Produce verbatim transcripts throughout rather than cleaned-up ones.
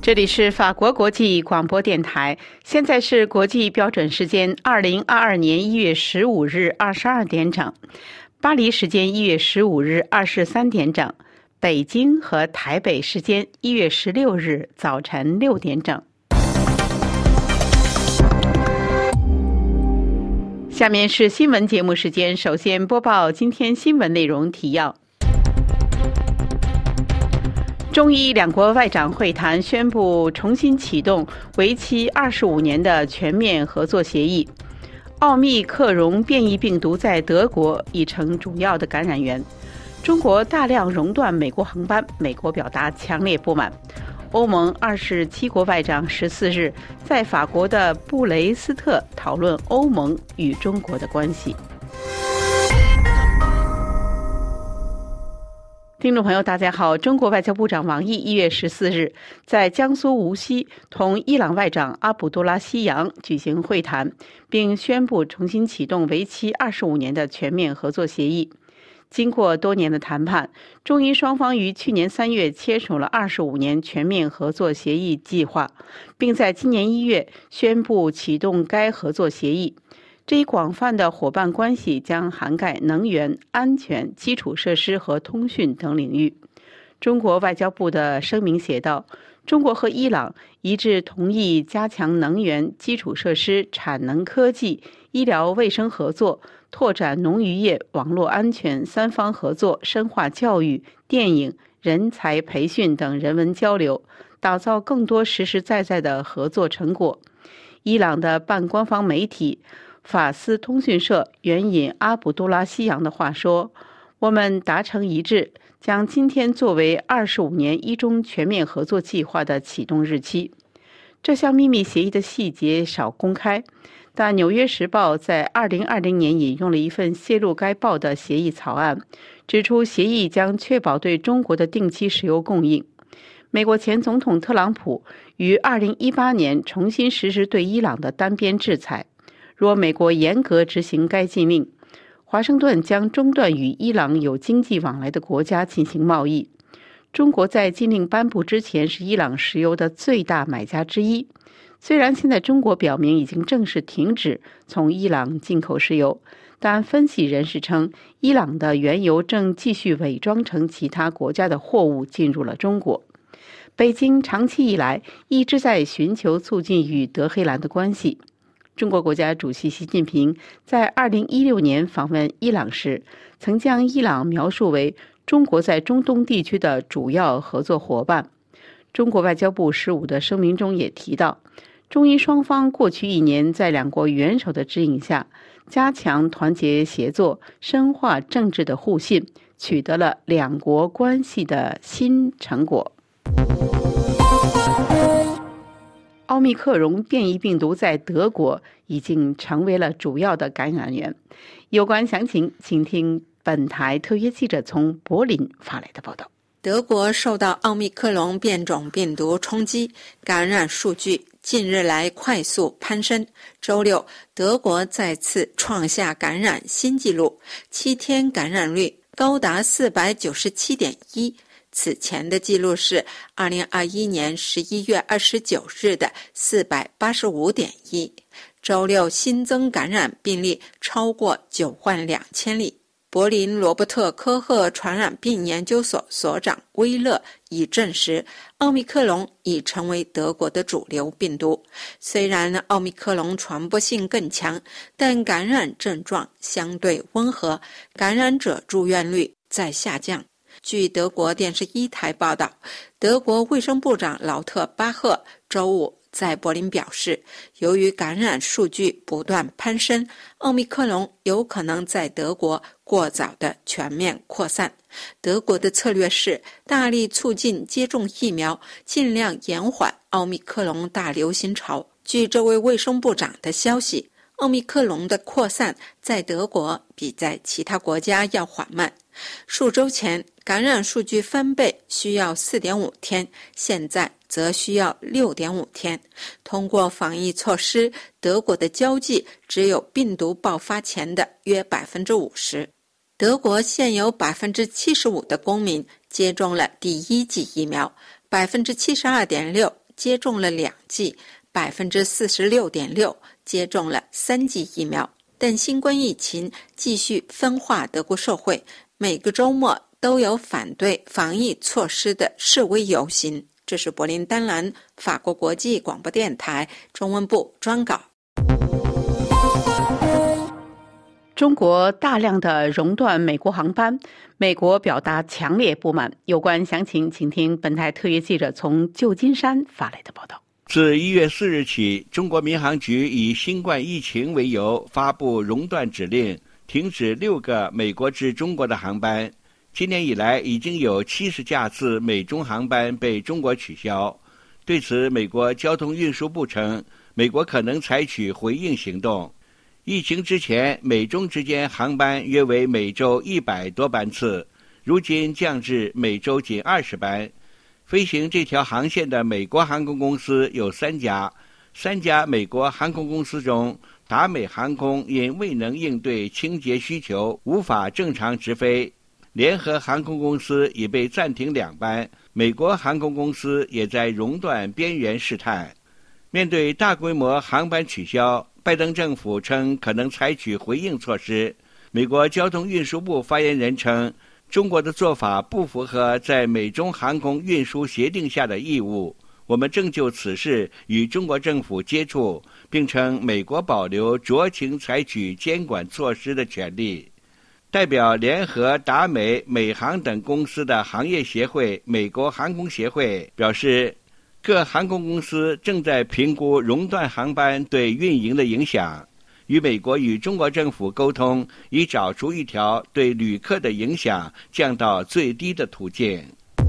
这里是法国国际广播电台，现在是国际标准时间二零二二年一月十五日二十二点整，巴黎时间一月十五日二十三点整，北京和台北时间一月十六日早晨六点整。下面是新闻节目时间，首先播报今天新闻内容提要。中伊两国外长会谈宣布重新启动为期二十五年的全面合作协议。奥密克戎变异病毒在德国已成主要的感染源。中国大量熔断美国航班，美国表达强烈不满。欧盟二十七国外长十四日在法国的布雷斯特讨论欧盟与中国的关系。听众朋友大家好，中国外交部长王毅一月十四日在江苏无锡同伊朗外长阿卜杜拉希扬举行会谈，并宣布重新启动为期二十五年的全面合作协议。经过多年的谈判，中伊双方于去年三月签署了二十五年全面合作协议计划，并在今年一月宣布启动该合作协议。这一广泛的伙伴关系将涵盖能源、安全、基础设施和通讯等领域。中国外交部的声明写道，中国和伊朗一致同意加强能源、基础设施、产能科技、医疗卫生合作，拓展农渔业、网络安全、三方合作，深化教育、电影、人才培训等人文交流，打造更多实实在在的合作成果。伊朗的半官方媒体法斯通讯社援引阿卜杜拉希扬的话说，我们达成一致，将今天作为二十五年一中全面合作计划的启动日期。这项秘密协议的细节少公开，但《纽约时报》在二零二零年引用了一份泄露该报的协议草案，指出协议将确保对中国的定期石油供应。美国前总统特朗普于二零一八年重新实施对伊朗的单边制裁，若美国严格执行该禁令，华盛顿将中断与伊朗有经济往来的国家进行贸易。中国在禁令颁布之前是伊朗石油的最大买家之一。虽然现在中国表明已经正式停止从伊朗进口石油，但分析人士称，伊朗的原油正继续伪装成其他国家的货物进入了中国。北京长期以来一直在寻求促进与德黑兰的关系。中国国家主席习近平在二零一六年访问伊朗时，曾将伊朗描述为中国在中东地区的主要合作伙伴。中国外交部十五的声明中也提到，中伊双方过去一年在两国元首的指引下，加强团结协作，深化政治的互信，取得了两国关系的新成果。奥密克戎变异病毒在德国已经成为了主要的感染源。有关详情，请听本台特约记者从柏林发来的报道。 德国受到奥密克戎变种病毒冲击，感染数据近日来快速攀升。周六，德国再次创下感染新纪录，七天感染率高达 四百九十七点一。此前的记录是二零二一年十一月二十九日的 四百八十五点一。周六新增感染病例超过九万两千例。柏林罗伯特科赫传染病研究所所长威勒已证实，奥密克戎已成为德国的主流病毒。虽然奥密克戎传播性更强，但感染症状相对温和，感染者住院率在下降。据德国电视一台报道，德国卫生部长劳特巴赫周五在柏林表示，由于感染数据不断攀升，奥密克戎有可能在德国过早的全面扩散。德国的策略是大力促进接种疫苗，尽量延缓奥密克戎大流行潮。据这位卫生部长的消息，奥密克戎的扩散在德国比在其他国家要缓慢。数周前，感染数据翻倍需要 四点五 天，现在则需要 六点五 天。通过防疫措施，德国的交际只有病毒爆发前的约 百分之五十。德国现有 百分之七十五 的公民接种了第一剂疫苗， 百分之七十二点六接种了两剂，百分之四十六点六接种了三剂疫苗。但新冠疫情继续分化德国社会，每个周末都有反对防疫措施的示威游行。这是柏林丹兰法国国际广播电台中文部专稿。 中国大量的熔断美国航班，美国表达强烈不满。有关详情，请听本台特约记者从旧金山发来的报道。 自一月四日起，中国民航局以新冠疫情为由发布熔断指令，停止六个美国至中国的航班。今年以来，已经有七十架次美中航班被中国取消。对此，美国交通运输部称，美国可能采取回应行动。疫情之前，美中之间航班约为每周一百多班次，如今降至每周仅二十班。飞行这条航线的美国航空公司有三家，三家美国航空公司中，达美航空因未能应对清洁需求，无法正常直飞。联合航空公司已被暂停两班，美国航空公司也在熔断边缘试探。面对大规模航班取消，拜登政府称可能采取回应措施。美国交通运输部发言人称，中国的做法不符合在美中航空运输协定下的义务。我们正就此事与中国政府接触，并称美国保留酌情采取监管措施的权利。代表联合达美、美航等公司的行业协会美国航空协会表示，各航空公司正在评估熔断航班对运营的影响，与美国与中国政府沟通，以找出一条对旅客的影响降到最低的途径。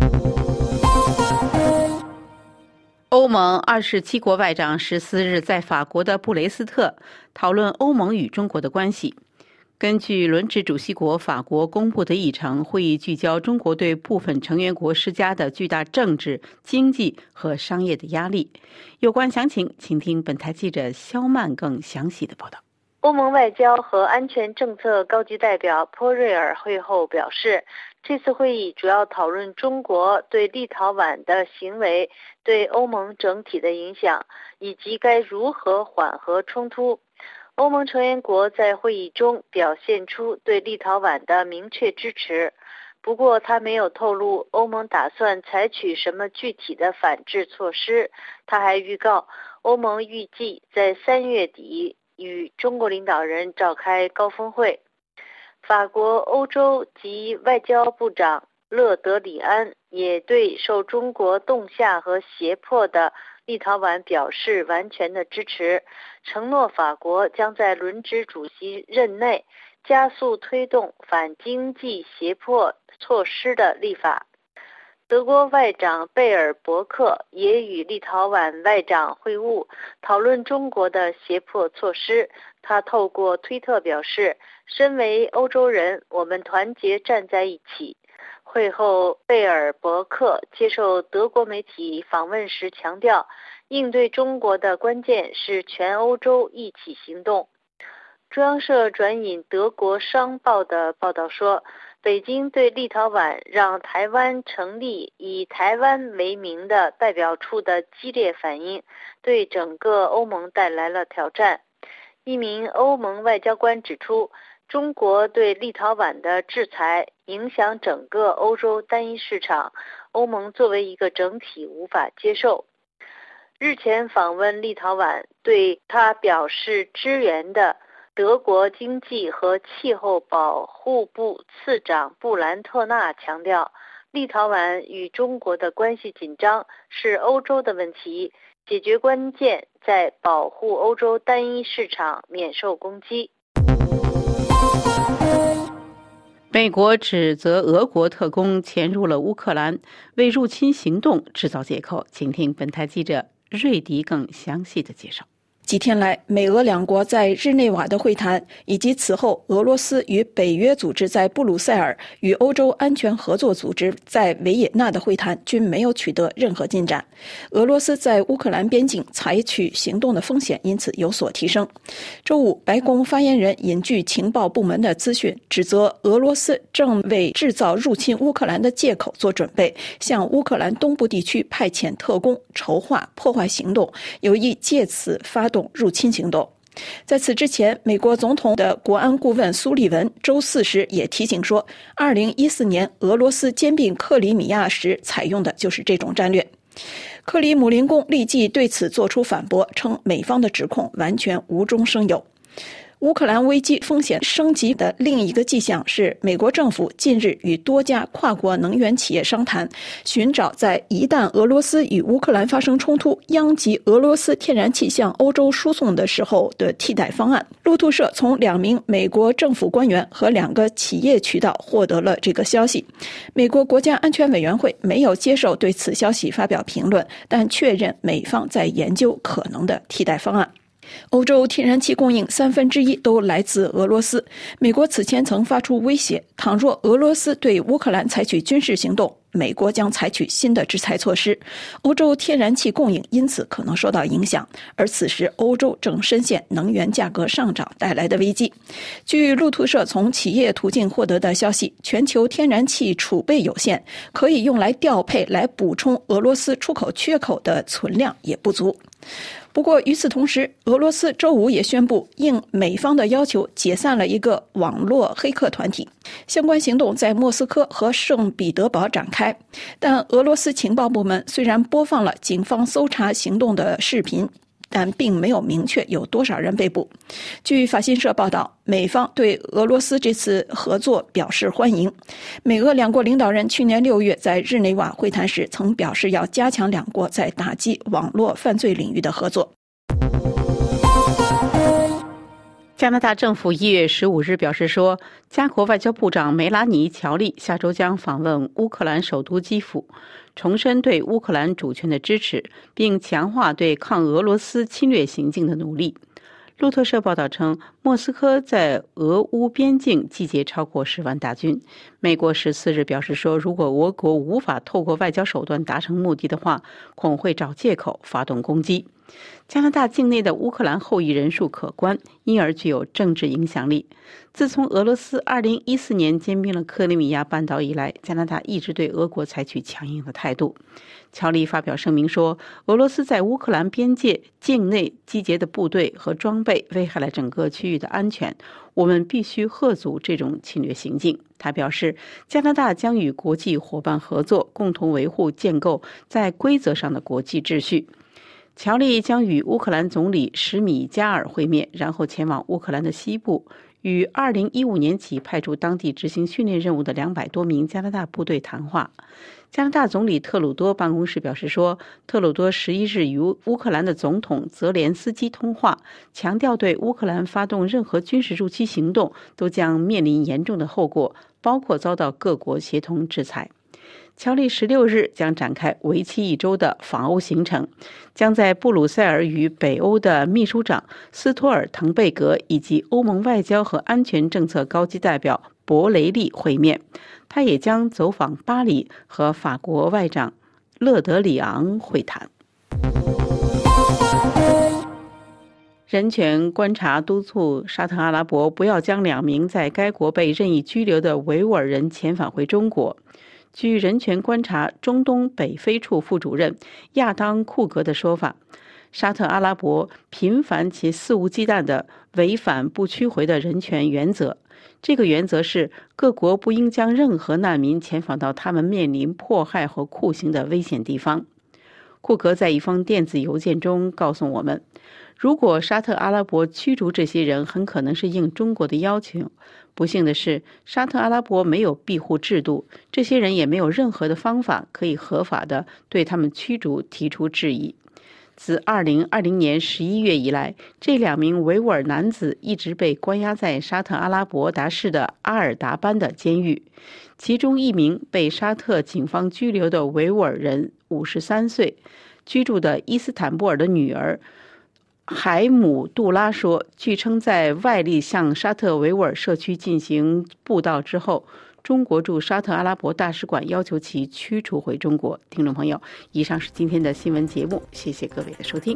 欧盟二十七国外长十四日在法国的布雷斯特讨论欧盟与中国的关系。根据轮值主席国法国公布的议程，会议聚焦中国对部分成员国施加的巨大政治、经济和商业的压力。有关详情，请听本台记者肖曼更详细的报道。 欧盟外交和安全政策高级代表波瑞尔会后表示，这次会议主要讨论中国对立陶宛的行为对欧盟整体的影响，以及该如何缓和冲突。欧盟成员国在会议中表现出对立陶宛的明确支持，不过他没有透露欧盟打算采取什么具体的反制措施。他还预告，欧盟预计在三月底与中国领导人召开高峰会。法国欧洲及外交部长勒德里安也对受中国冻下和胁迫的立陶宛表示完全的支持，承诺法国将在轮值主席任内加速推动反经济胁迫措施的立法。德国外长贝尔伯克也与立陶宛外长会晤，讨论中国的胁迫措施。他透过推特表示，身为欧洲人，我们团结站在一起。会后，贝尔伯克接受德国媒体访问时强调，应对中国的关键是全欧洲一起行动。中央社转引德国商报的报道说，北京对立陶宛让台湾成立以台湾为名的代表处的激烈反应，对整个欧盟带来了挑战。一名欧盟外交官指出，中国对立陶宛的制裁影响整个欧洲单一市场，欧盟作为一个整体无法接受。日前访问立陶宛，对他表示支援的德国经济和气候保护部次长布兰特纳强调，立陶宛与中国的关系紧张是欧洲的问题，解决关键在保护欧洲单一市场免受攻击。 美国指责俄国特工潜入了乌克兰，为入侵行动制造借口。请听本台记者瑞迪更详细的介绍。 几天来，美俄两国在日内瓦的会谈，以及此后俄罗斯与北约组织在布鲁塞尔与欧洲安全合作组织在维也纳的会谈均没有取得任何进展。俄罗斯在乌克兰边境采取行动的风险因此有所提升。周五，白宫发言人引据情报部门的资讯，指责俄罗斯正为制造入侵乌克兰的借口做准备，向乌克兰东部地区派遣特工，筹划破坏行动，有意借此发动入侵行动。在此之前，美国总统的国安顾问苏利文周四时也提醒说，二零一四年俄罗斯兼并克里米亚时采用的就是这种战略。克里姆林宫立即对此作出反驳，称美方的指控完全无中生有。乌克兰危机风险升级的另一个迹象是，美国政府近日与多家跨国能源企业商谈，寻找在一旦俄罗斯与乌克兰发生冲突，殃及俄罗斯天然气向欧洲输送的时候的替代方案。路透社从两名美国政府官员和两个企业渠道获得了这个消息。美国国家安全委员会没有接受对此消息发表评论，但确认美方在研究可能的替代方案。欧洲天然气供应三分之一都来自俄罗斯。美国此前曾发出威胁，倘若俄罗斯对乌克兰采取军事行动，美国将采取新的制裁措施。欧洲天然气供应因此可能受到影响，而此时欧洲正深陷能源价格上涨带来的危机。据路透社从企业途径获得的消息，全球天然气储备有限，可以用来调配来补充俄罗斯出口缺口的存量也不足。不过与此同时，俄罗斯周五也宣布应美方的要求解散了一个网络黑客团体，相关行动在莫斯科和圣彼得堡展开。但俄罗斯情报部门虽然播放了警方搜查行动的视频，但并没有明确有多少人被捕。据法新社报道，美方对俄罗斯这次合作表示欢迎。美俄两国领导人去年六月在日内瓦会谈时曾表示要加强两国在打击网络犯罪领域的合作。 加拿大政府一月十五日表示说，加国外交部长梅拉尼·乔利下周将访问乌克兰首都基辅，重申对乌克兰主权的支持，并强化对抗俄罗斯侵略行径的努力。路透社报道称，莫斯科在俄乌边境集结超过十万大军。美国十四日表示说，如果俄国无法透过外交手段达成目的的话，恐会找借口发动攻击。加拿大境内的乌克兰后裔人数可观，因而具有政治影响力。自从俄罗斯二零一四年兼并了克里米亚半岛以来，加拿大一直对俄国采取强硬的态度。乔利发表声明说，俄罗斯在乌克兰边界境内集结的部队和装备危害了整个区域的安全，我们必须遏阻这种侵略行径。他表示，加拿大将与国际伙伴合作，共同维护建构在规则上的国际秩序。乔利将与乌克兰总理什米加尔会面，然后前往乌克兰的西部，与二零一五年起派驻当地执行训练任务的两百多名加拿大部队谈话。加拿大总理特鲁多办公室表示说，特鲁多十一日与乌克兰的总统泽连斯基通话，强调对乌克兰发动任何军事入侵行动都将面临严重的后果，包括遭到各国协同制裁。乔利十六日将展开为期一周的访欧行程，将在布鲁塞尔与北欧的秘书长斯托尔滕贝格以及欧盟外交和安全政策高级代表博雷利会面。他也将走访巴黎和法国外长勒德里昂会谈。人权观察督促沙特阿拉伯不要将两名在该国被任意拘留的维吾尔人遣返回中国。据人权观察中东北非处副主任亚当库格的说法，沙特阿拉伯频繁且肆无忌惮地违反不屈回的人权原则。这个原则是各国不应将任何难民遣返到他们面临迫害和酷刑的危险地方。库格在一封电子邮件中告诉我们，如果沙特阿拉伯驱逐这些人，很可能是应中国的要求。不幸的是，沙特阿拉伯没有庇护制度，这些人也没有任何的方法可以合法的对他们驱逐提出质疑。自二零二零年十一月以来，这两名维吾尔男子一直被关押在沙特阿拉伯达市的阿尔达班的监狱。其中一名被沙特警方拘留的维吾尔人五十三岁，居住的伊斯坦布尔的女儿海姆杜拉说，据称在外力向沙特维吾尔社区进行布道之后，中国驻沙特阿拉伯大使馆要求其驱逐回中国。听众朋友，以上是今天的新闻节目，谢谢各位的收听。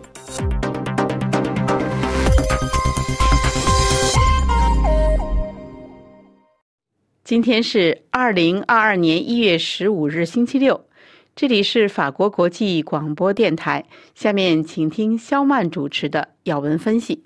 今天是二零二二年一月十五日，星期六。这里是法国国际广播电台，下面请听肖曼主持的要闻分析。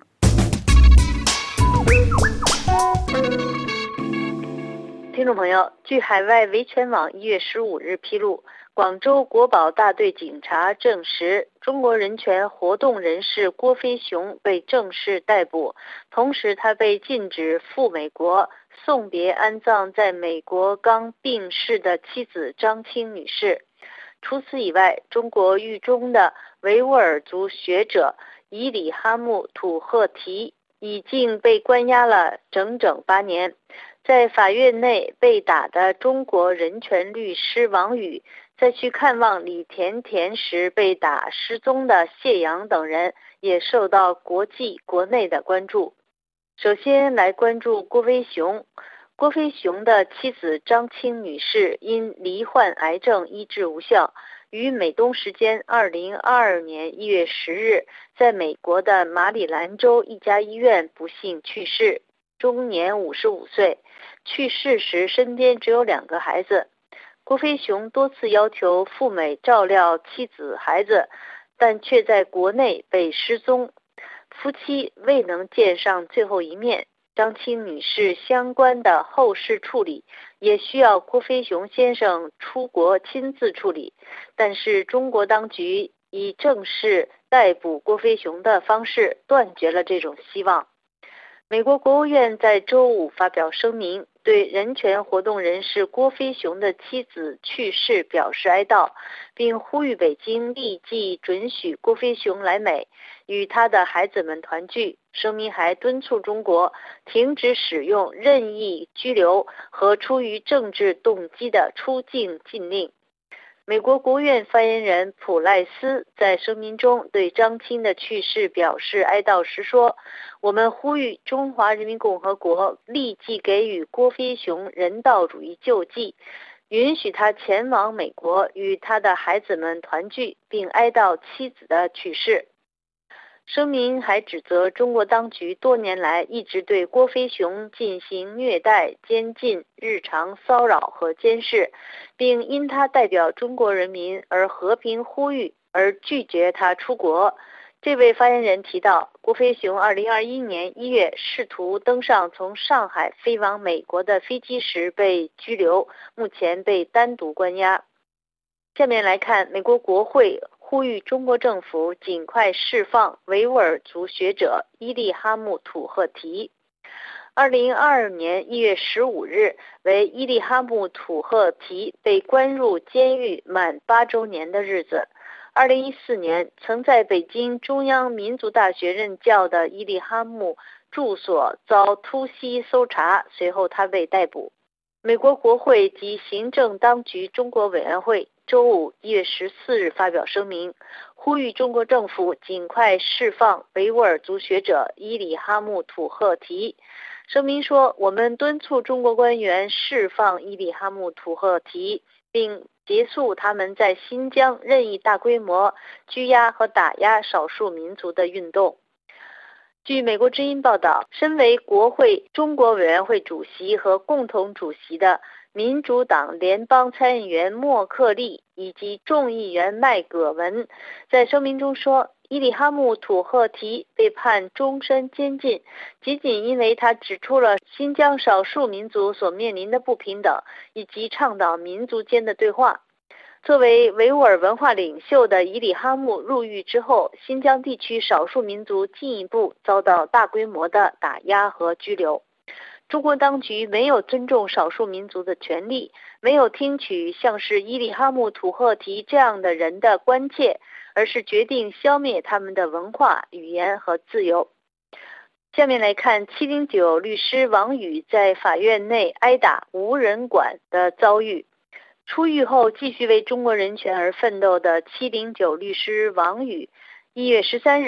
听众朋友，据海外维权网一月十五日披露，广州国保大队警察证实，中国人权活动人士郭飞雄被正式逮捕，同时他被禁止赴美国送别安葬在美国刚病逝的妻子张青女士。除此以外，中国狱中的维吾尔族学者伊里哈木土赫提已经被关押了整整八年。在法院内被打的中国人权律师王宇，在去看望李甜甜时被打失踪的谢阳等人，也受到国际国内的关注。首先来关注郭飞雄。郭飞雄的妻子张青女士因罹患癌症医治无效，于美东时间二零二二年一月十日，在美国的马里兰州一家医院不幸去世，终年五十五岁。去世时身边只有两个孩子。郭飞雄多次要求赴美照料妻子孩子，但却在国内被失踪，夫妻未能见上最后一面。张青女士相关的后事处理也需要郭飞雄先生出国亲自处理，但是中国当局以正式逮捕郭飞雄的方式断绝了这种希望。美国国务院在周五发表声明，对人权活动人士郭飞雄的妻子去世表示哀悼，并呼吁北京立即准许郭飞雄来美，与他的孩子们团聚。声明还敦促中国停止使用任意拘留和出于政治动机的出境禁令。美国国务院发言人普赖斯在声明中对张青的去世表示哀悼时说，我们呼吁中华人民共和国立即给予郭飞雄人道主义救济，允许他前往美国与他的孩子们团聚，并哀悼妻子的去世。声明还指责中国当局多年来一直对郭飞雄进行虐待、监禁、日常骚扰和监视，并因他代表中国人民而和平呼吁而拒绝他出国。这位发言人提到，郭飞雄二零二一年一月试图登上从上海飞往美国的飞机时被拘留，目前被单独关押。下面来看美国国会呼吁中国政府尽快释放维吾尔族学者伊利哈木土赫提。二零二二年一月十五日为伊利哈木土赫提被关入监狱满八周年的日子。二零一四年曾在北京中央民族大学任教的伊利哈木住所遭突袭搜查，随后他被逮捕。美国国会及行政当局中国委员会周五一月十四日发表声明，呼吁中国政府尽快释放维吾尔族学者伊里哈木土赫提。声明说，我们敦促中国官员释放伊里哈木土赫提，并结束他们在新疆任意大规模拘押和打压少数民族的运动。据美国之音报道，身为国会中国委员会主席和共同主席的民主党联邦参议员莫克利以及众议员麦葛文在声明中说，伊里哈木土赫提被判终身监禁，仅仅因为他指出了新疆少数民族所面临的不平等，以及倡导民族间的对话。作为维吾尔文化领袖的伊里哈木入狱之后，新疆地区少数民族进一步遭到大规模的打压和拘留。中国当局没有尊重少数民族的权利，没有听取像是伊里哈木土赫提这样的人的关切，而是决定消灭他们的文化、语言和自由。下面来看七零九律师王宇在法院内挨打无人管的遭遇。出狱后继续为中国人权而奋斗的七零九律师王宇，一月十三日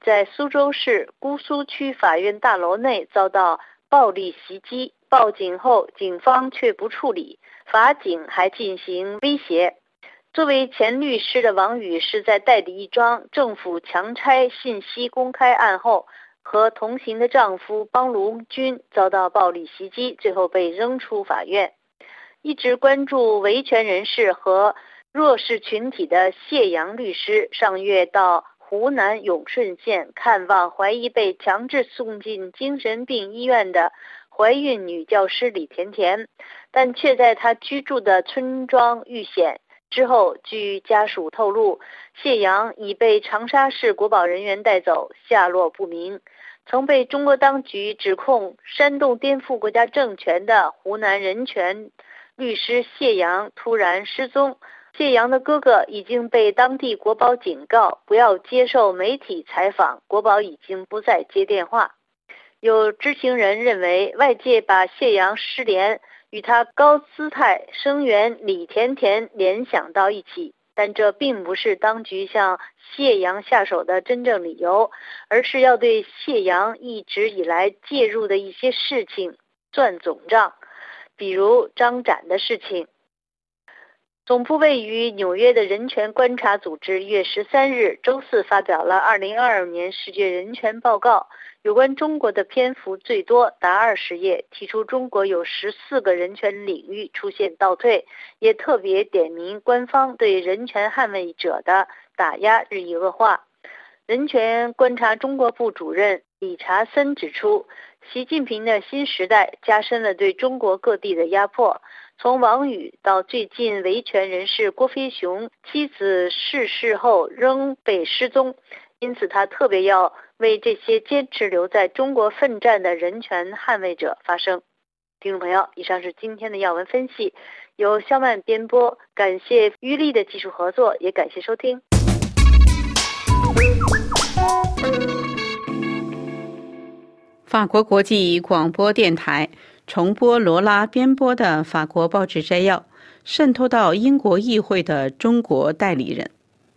在苏州市姑苏区法院大楼内遭到暴力袭击，报警后警方却不处理，法警还进行威胁。作为前律师的王宇是在代理一桩政府强拆信息公开案后，和同行的丈夫帮卢军遭到暴力袭击，最后被扔出法院。一直关注维权人士和弱势群体的谢阳律师上月到湖南永顺县看望怀疑被强制送进精神病医院的怀孕女教师李甜甜，但却在她居住的村庄遇险。之后，据家属透露，谢阳已被长沙市国保人员带走，下落不明。曾被中国当局指控煽动颠覆国家政权的湖南人权律师谢阳突然失踪。谢阳的哥哥已经被当地国保警告不要接受媒体采访，国保已经不再接电话。有知情人认为，外界把谢阳失联与他高姿态声援李甜甜联想到一起，但这并不是当局向谢阳下手的真正理由，而是要对谢阳一直以来介入的一些事情算总账，比如张展的事情。总部位于纽约的人权观察组织一月十三日周四发表了二零二二年世界人权报告，有关中国的篇幅最多，达二十页，提出中国有十四个人权领域出现倒退，也特别点名官方对人权捍卫者的打压日益恶化。人权观察中国部主任理查森指出，习近平的新时代加深了对中国各地的压迫，从王宇到最近维权人士郭飞雄妻子逝世后仍被失踪，因此他特别要为这些坚持留在中国奋战的人权捍卫者发声。听众朋友，以上是今天的要闻分析，由肖曼编播，感谢于力的技术合作，也感谢收听。 法国国际广播电台重播罗拉编播的法国报纸摘要，渗透到英国议会的中国代理人。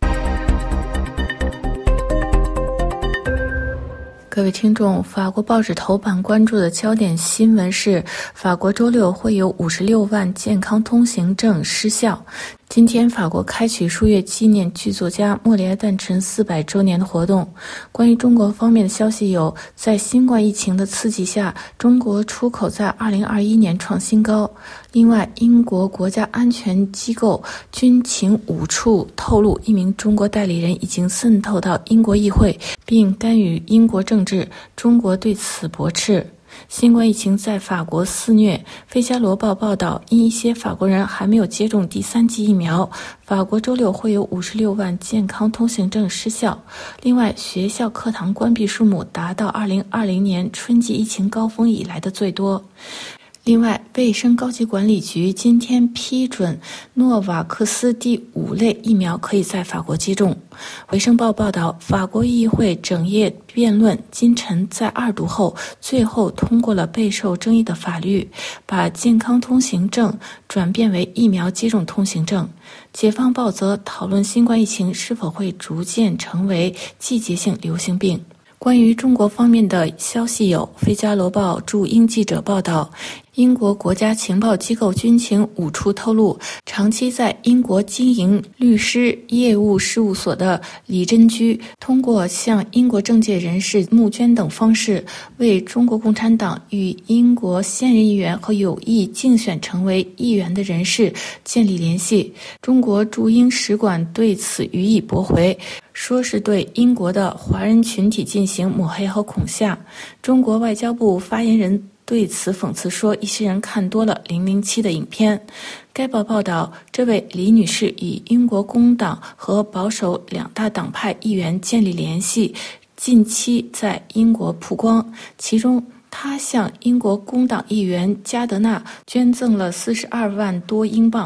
各位听众，法国报纸头版关注的焦点新闻是，法国周六会有五十六万健康通行证失效。今天，法国开启数月纪念剧作家莫里埃诞辰四百周年的活动。关于中国方面的消息有，在新冠疫情的刺激下，中国出口在二零二一年创新高。另外，英国国家安全机构军情五处透露，一名中国代理人已经渗透到英国议会，并干预英国政治。中国对此驳斥。新冠疫情在法国肆虐，《费加罗报》报道，因一些法国人还没有接种第三剂疫苗，法国周六会有五十六万健康通行证失效。另外，学校课堂关闭数目达到二零二零年春季疫情高峰以来的最多。另外，卫生高级管理局今天批准诺瓦克斯第五类疫苗可以在法国接种。卫生报报道，法国议会整夜辩论，今晨在二读后，最后通过了备受争议的法律，把健康通行证转变为疫苗接种通行证。解放报则讨论新冠疫情是否会逐渐成为季节性流行病。关于中国方面的消息有，《费加罗报》驻英记者报道，英国国家情报机构军情五处透露，长期在英国经营律师业务事务所的李珍居，通过向英国政界人士募捐等方式，为中国共产党与英国现任议员和有意竞选成为议员的人士建立联系。中国驻英使馆对此予以驳回，说是对英国的华人群体进行抹黑和恐吓。中国外交部发言人对此讽刺说，一些人看多了零零七的影片。该报报道，这位李女士与英国工党和保守两大党派议员建立联系，近期在英国曝光，其中她向英国工党议员加德纳捐赠了四十二万多英镑。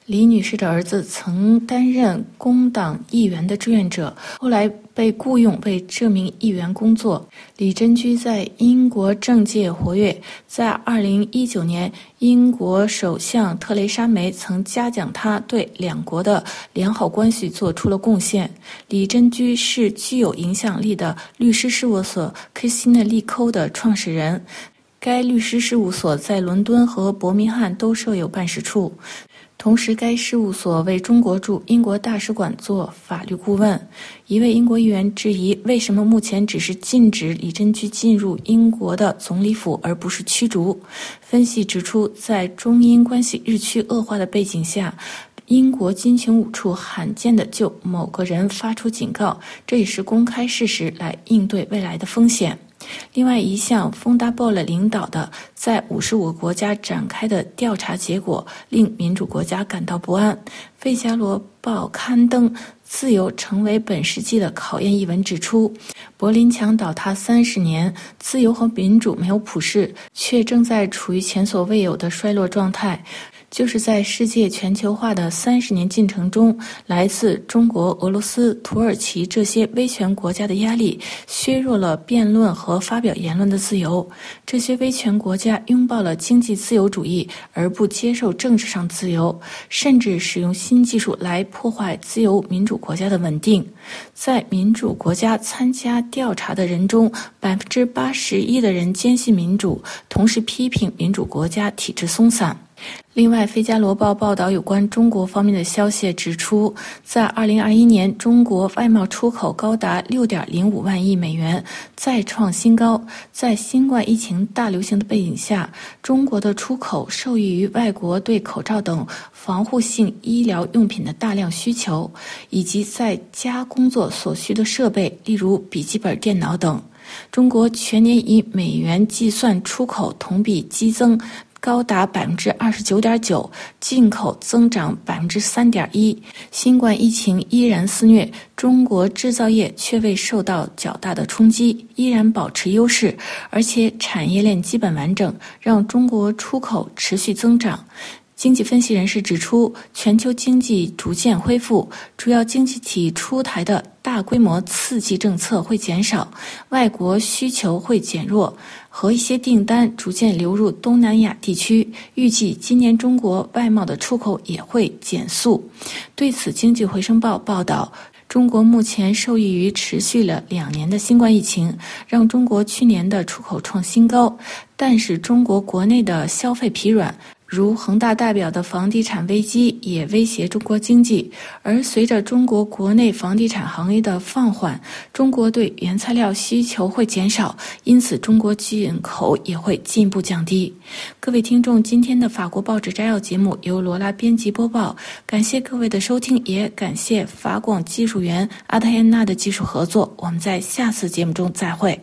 李女士的儿子曾担任工党议员的志愿者，后来被雇佣为这名议员工作。李珍居在英国政界活跃，在二零一九年，英国首相特蕾莎梅曾嘉奖他对两国的良好关系做出了贡献。李珍居是具有影响力的律师事务所 Christina Lee Co 的创始人。该律师事务所在伦敦和伯明翰都设有办事处，同时该事务所为中国驻英国大使馆做法律顾问。一位英国议员质疑，为什么目前只是禁止李珍居进入英国的总理府，而不是驱逐？分析指出，在中英关系日趋恶化的背景下，英国军情五处罕见地就某个人发出警告，这也是公开事实来应对未来的风险。另外一项丰达波勒领导的在五十五个国家展开的调查结果令民主国家感到不安。费加罗报刊登自由成为本世纪的考验一文指出，柏林墙倒塌三十年，自由和民主没有普世，却正在处于前所未有的衰落状态。就是在世界全球化的三十年进程中，来自中国、俄罗斯、土耳其这些威权国家的压力削弱了辩论和发表言论的自由。这些威权国家拥抱了经济自由主义，而不接受政治上自由，甚至使用新技术来破坏自由民主国家的稳定。在民主国家参加调查的人中，百分之八十一的人坚信民主，同时批评民主国家体制松散。另外，《费加罗报》报道有关中国方面的消息指出，在二零二一年，中国外贸出口高达六点零五万亿美元，再创新高。在新冠疫情大流行的背景下，中国的出口受益于外国对口罩等防护性医疗用品的大量需求，以及在家工作所需的设备，例如笔记本电脑等。中国全年以美元计算出口同比激增高达百分之二十九点九，进口增长百分之三点一。新冠疫情依然肆虐，中国制造业却未受到较大的冲击，依然保持优势，而且产业链基本完整，让中国出口持续增长。经济分析人士指出，全球经济逐渐恢复，主要经济体出台的大规模刺激政策会减少，外国需求会减弱，和一些订单逐渐流入东南亚地区。预计今年中国外贸的出口也会减速。对此，《经济回声报》报道，中国目前受益于持续了两年的新冠疫情，让中国去年的出口创新高，但是中国国内的消费疲软，如恒大代表的房地产危机也威胁中国经济，而随着中国国内房地产行业的放缓，中国对原材料需求会减少，因此中国进口也会进一步降低。各位听众，今天的法国报纸摘要节目由罗拉编辑播报，感谢各位的收听，也感谢法广技术员阿泰安娜的技术合作。我们在下次节目中再会。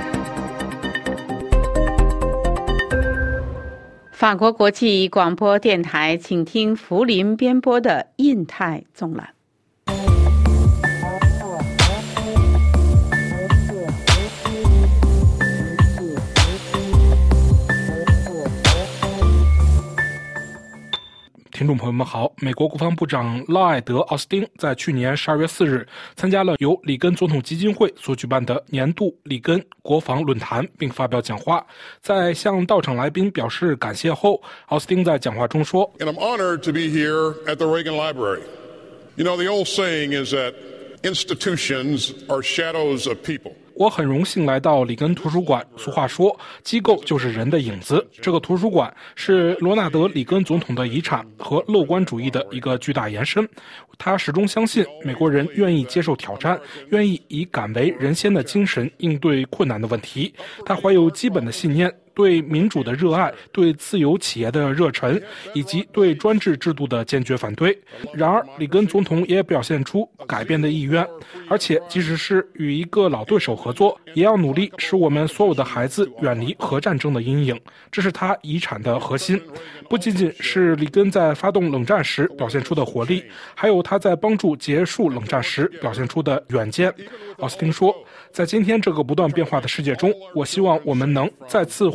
法国国际广播电台，请听福林编播的印太纵览。 听众朋友们好，美国国防部长拉艾德·奥斯汀在去年十二月四日参加了由里根总统基金会所举办的年度里根国防论坛，并发表讲话。在向到场来宾表示感谢后，奥斯汀在讲话中说 And I'm honored to be here at the Reagan Library. You know, the old saying is that institutions are shadows of people. 我很荣幸来到里根图书馆。俗话说，机构就是人的影子。这个图书馆是罗纳德·里根总统的遗产和乐观主义的一个巨大延伸。他始终相信美国人愿意接受挑战，愿意以敢为人先的精神应对困难的问题。他怀有基本的信念，对民主的热爱，对自由企业的热忱，以及对专制制度的坚决反对。然而，里根总统也表现出改变的意愿，而且即使是与一个老对手合作，也要努力使我们所有的孩子远离核战争的阴影。这是他遗产的核心。不仅仅是里根在发动冷战时表现出的活力，还有他在帮助结束冷战时表现出的远见。奥斯汀说，在今天这个不断变化的世界中，我希望我们能再次唤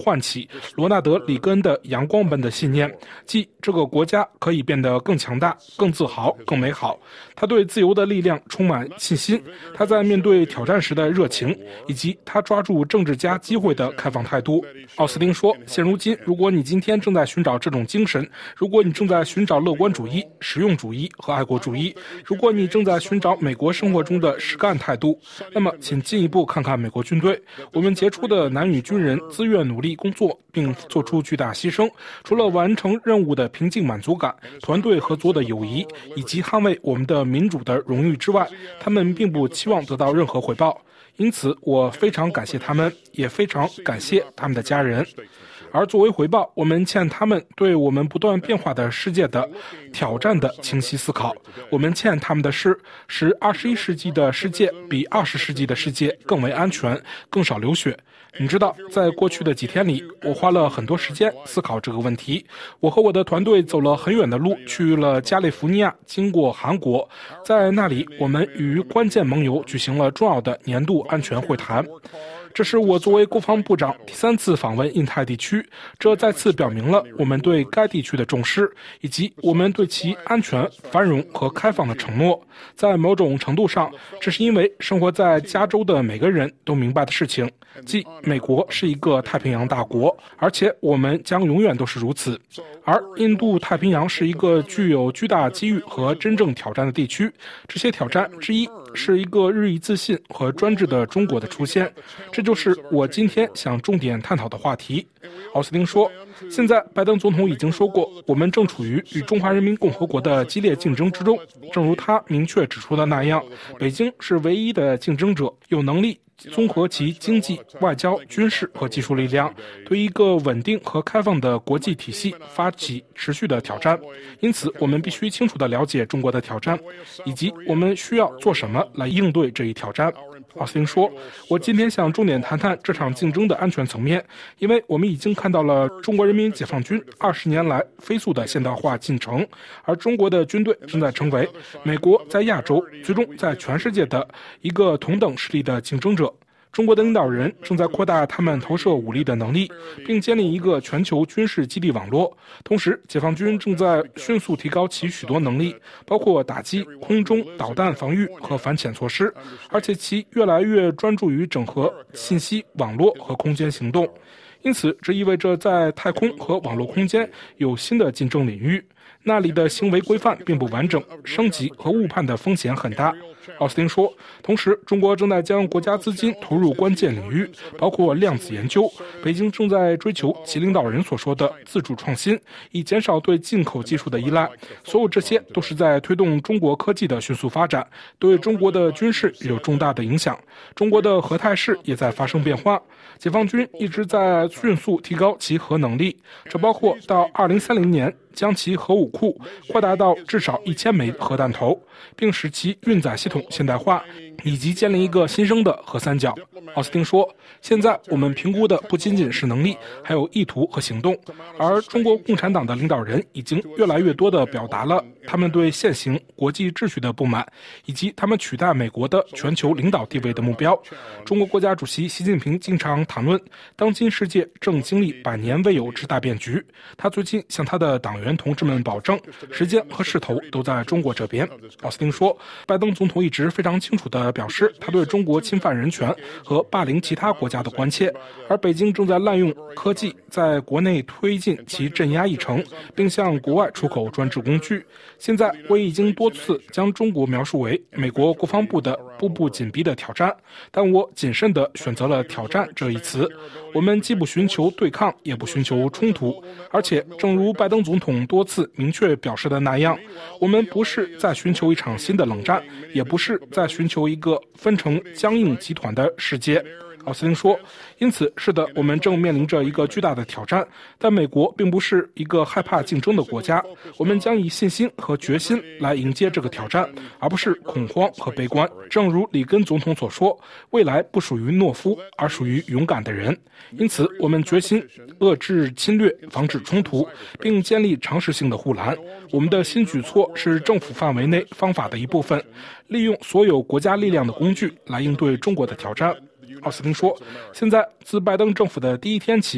唤起罗纳德·里根恩的阳光般的信念，即这个国家可以变得更强大、更自豪、更美好。他对自由的力量充满信心，他在面对挑战时的热情，以及他抓住政治家机会的开放态度。奥斯汀说，现如今，如果你今天正在寻找这种精神，如果你正在寻找乐观主义、实用主义和爱国主义，如果你正在寻找美国生活中的实干态度，那么请进一步看看美国军队。我们杰出的男女军人自愿努力工作并做出巨大牺牲，除了完成任务的平静满足感、团队合作的友谊以及捍卫我们的民主的荣誉之外，他们并不期望得到任何回报。因此我非常感谢他们，也非常感谢他们的家人。而作为回报，我们欠他们对我们不断变化的世界的挑战的清晰思考。我们欠他们的是使二十一世纪的世界比二十世纪的世界更为安全，更少流血。你知道，在过去的几天里，我花了很多时间思考这个问题。我和我的团队走了很远的路，去了加利福尼亚，经过韩国，在那里我们与关键盟友举行了重要的年度安全会谈。这是我作为国防部长第三次访问印太地区，这再次表明了我们对该地区的重视，以及我们对其安全、繁荣和开放的承诺。在某种程度上，这是因为生活在加州的每个人都明白的事情，即美国是一个太平洋大国，而且我们将永远都是如此。而印度太平洋是一个具有巨大机遇和真正挑战的地区，这些挑战之一是一个日益自信和专制的中国的出现，这就是我今天想重点探讨的话题。奥斯汀说，现在拜登总统已经说过，我们正处于与中华人民共和国的激烈竞争之中，正如他明确指出的那样，北京是唯一的竞争者，有能力综合其经济、外交、军事和技术力量，对一个稳定和开放的国际体系发起持续的挑战。因此，我们必须清楚地了解中国的挑战，以及我们需要做什么来应对这一挑战。奥斯汀说，我今天想重点谈谈这场竞争的安全层面，因为我们已经看到了中国人民解放军二十年来飞速的现代化进程，而中国的军队正在成为美国在亚洲，最终在全世界的一个同等实力的竞争者。中国的领导人正在扩大他们投射武力的能力，并建立一个全球军事基地网络。同时，解放军正在迅速提高其许多能力，包括打击、空中导弹防御和反潜措施，而且其越来越专注于整合信息网络和空间行动。因此，这意味着在太空和网络空间有新的竞争领域，那里的行为规范并不完整，升级和误判的风险很大。奥斯汀说，同时中国正在将国家资金投入关键领域，包括量子研究。北京正在追求其领导人所说的自主创新，以减少对进口技术的依赖。所有这些都是在推动中国科技的迅速发展，对中国的军事有重大的影响。中国的核态势也在发生变化，解放军一直在迅速提高其核能力，这包括到二零三零年将其核武库扩大到至少一千枚核弹头，并使其运载系统现代化，以及建立一个新生的核三角。奥斯汀说，现在我们评估的不仅仅是能力，还有意图和行动。而中国共产党的领导人已经越来越多地表达了他们对现行国际秩序的不满，以及他们取代美国的全球领导地位的目标。中国国家主席习近平经常谈论，当今世界正经历百年未有之大变局。他最近向他的党员同志们保证，时间和势头都在中国这边。奥斯汀说，拜登总统一直非常清楚地表示他对中国侵犯人权和霸凌其他国家的关切，而北京正在滥用科技在国内推进其镇压议程，并向国外出口专制工具。现在我已经多次将中国描述为美国国防部的步步紧逼的挑战，但我谨慎地选择了挑战这一词。我们既不寻求对抗，也不寻求冲突，而且正如拜登总统多次明确表示的那样，我们不是在寻求一场新的冷战，也不是在寻求一个分成僵硬集团的世界。奥斯汀说，因此，是的，我们正面临着一个巨大的挑战，但美国并不是一个害怕竞争的国家，我们将以信心和决心来迎接这个挑战，而不是恐慌和悲观。正如里根总统所说，未来不属于懦夫，而属于勇敢的人。因此，我们决心遏制侵略，防止冲突，并建立常识性的护栏。我们的新举措是政府范围内方法的一部分，利用所有国家力量的工具来应对中国的挑战。奥斯汀说，现在自拜登政府的第一天起，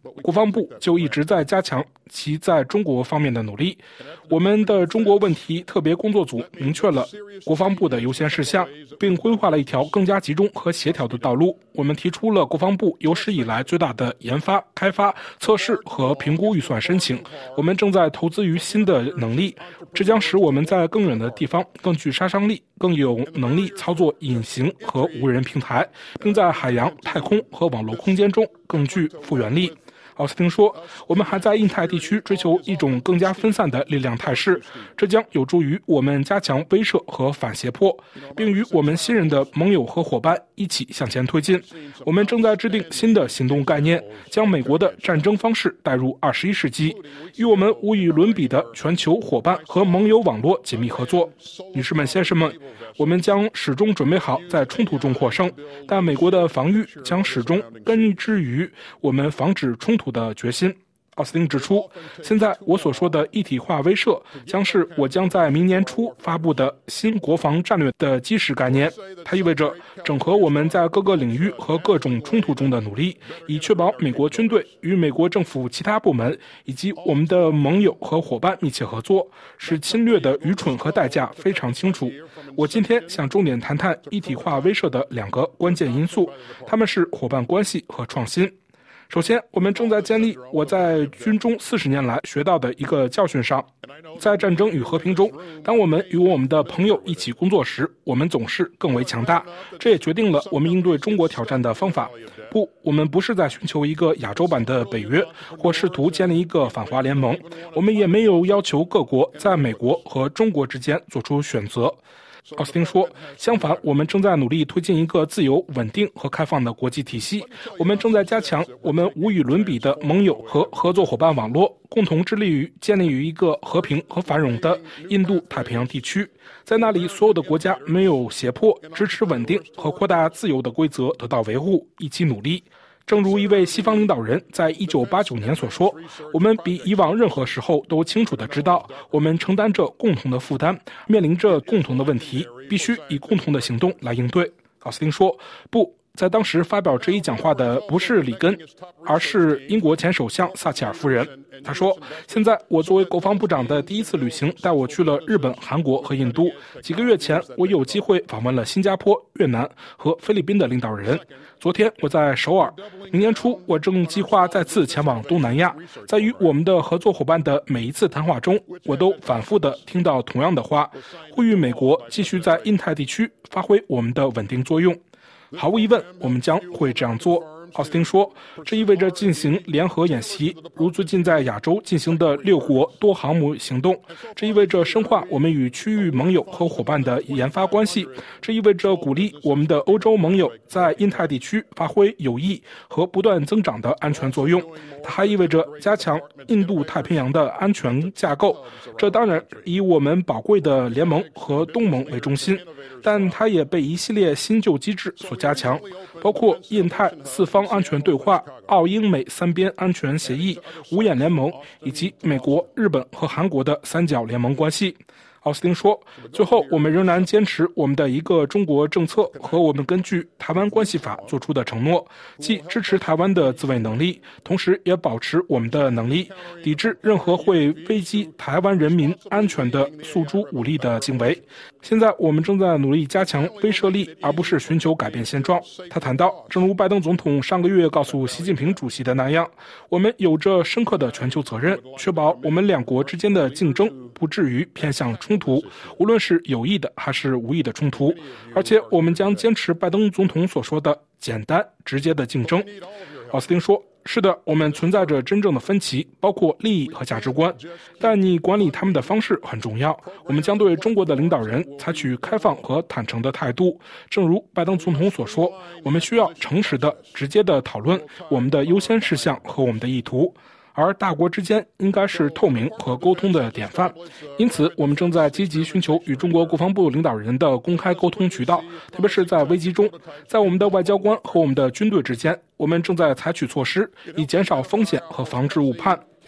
国防部就一直在加强其在中国方面的努力。我们的中国问题特别工作组明确了国防部的优先事项，并规划了一条更加集中和协调的道路。我们提出了国防部有史以来最大的研发、开发、测试和评估预算申请。我们正在投资于新的能力，这将使我们在更远的地方更具杀伤力，更有能力操作隐形和无人平台，并在海洋、太空和网络空间中更具复原力。奥斯汀说，我们还在印太地区追求一种更加分散的力量态势，这将有助于我们加强威慑和反胁迫，并与我们信任的盟友和伙伴一起向前推进。我们正在制定新的行动概念，将美国的战争方式带入二十一世纪，与我们无与伦比的全球伙伴和盟友网络紧密合作。女士们、先生们，我们将始终准备好在冲突中获胜，但美国的防御将始终根植于我们防止冲突的决心。奥斯汀指出，现在我所说的一体化威慑将是我将在明年初发布的新国防战略的基石概念。它意味着整合我们在各个领域和各种冲突中的努力，以确保美国军队与美国政府其他部门以及我们的盟友和伙伴密切合作，使侵略的愚蠢和代价非常清楚。我今天想重点谈谈一体化威慑的两个关键因素，它们是伙伴关系和创新。首先，我们正在建立我在军中四十年来学到的一个教训上，在战争与和平中，当我们与我们的朋友一起工作时，我们总是更为强大。这也决定了我们应对中国挑战的方法。不，我们不是在寻求一个亚洲版的北约，或试图建立一个反华联盟。我们也没有要求各国在美国和中国之间做出选择。奥斯汀说，相反，我们正在努力推进一个自由、稳定和开放的国际体系。我们正在加强我们无与伦比的盟友和合作伙伴网络，共同致力于建立于一个和平和繁荣的印度太平洋地区。在那里，所有的国家没有胁迫、支持稳定和扩大自由的规则得到维护，一起努力。正如一位西方领导人在一九八九年所说，我们比以往任何时候都清楚地知道，我们承担着共同的负担，面临着共同的问题，必须以共同的行动来应对。奥斯汀说，不，在当时发表这一讲话的不是里根，而是英国前首相撒切尔夫人。他说，现在我作为国防部长的第一次旅行带我去了日本、韩国和印度。几个月前，我有机会访问了新加坡、越南和菲律宾的领导人。昨天我在首尔，明年初我正计划再次前往东南亚。在与我们的合作伙伴的每一次谈话中，我都反复地听到同样的话，呼吁美国继续在印太地区发挥我们的稳定作用。毫无疑问，我们将会这样做。奥斯汀说，这意味着进行联合演习，如最近在亚洲进行的六国多航母行动。这意味着深化我们与区域盟友和伙伴的研发关系。这意味着鼓励我们的欧洲盟友在印太地区发挥有益和不断增长的安全作用。它还意味着加强印度太平洋的安全架构，这当然以我们宝贵的联盟和东盟为中心，但它也被一系列新旧机制所加强，包括印太四方安全对话、澳英美三边安全协议、五眼联盟以及美国、日本和韩国的三角联盟关系。奥斯汀说，最后我们仍然坚持我们的一个中国政策和我们根据台湾关系法做出的承诺，即支持台湾的自卫能力，同时也保持我们的能力，抵制任何会危及台湾人民安全的诉诸武力的行为。现在我们正在努力加强威慑力，而不是寻求改变现状。他谈到，正如拜登总统上个月告诉习近平主席的那样，我们有着深刻的全球责任，确保我们两国之间的竞争不至于偏向冲突，无论是有意的还是无意的冲突。而且我们将坚持拜登总统所说的简单直接的竞争。奥斯汀说，是的，我们存在着真正的分歧，包括利益和价值观，但你管理他们的方式很重要。我们将对中国的领导人采取开放和坦诚的态度，正如拜登总统所说，我们需要诚实的、直接的讨论我们的优先事项和我们的意图。而大国之间应该是透明和沟通的典范，因此我们正在积极寻求与中国国防部领导人的公开沟通渠道，特别是在危机中。在我们的外交官和我们的军队之间，我们正在采取措施以减少风险和防止误判。